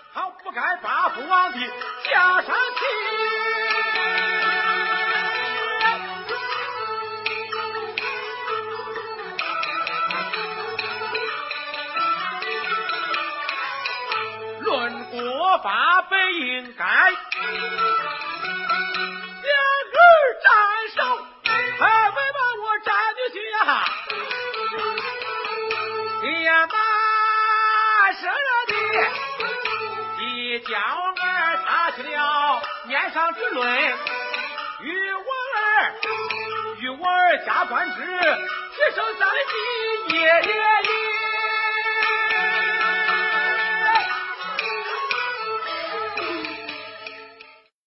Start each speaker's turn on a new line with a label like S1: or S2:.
S1: 好不该把父王的加上去。论国法本应该两儿斩首，还会把我斩进去呀！你呀妈生了的，即将儿打起了面上之论，与我儿加官职，提升3级，耶耶耶！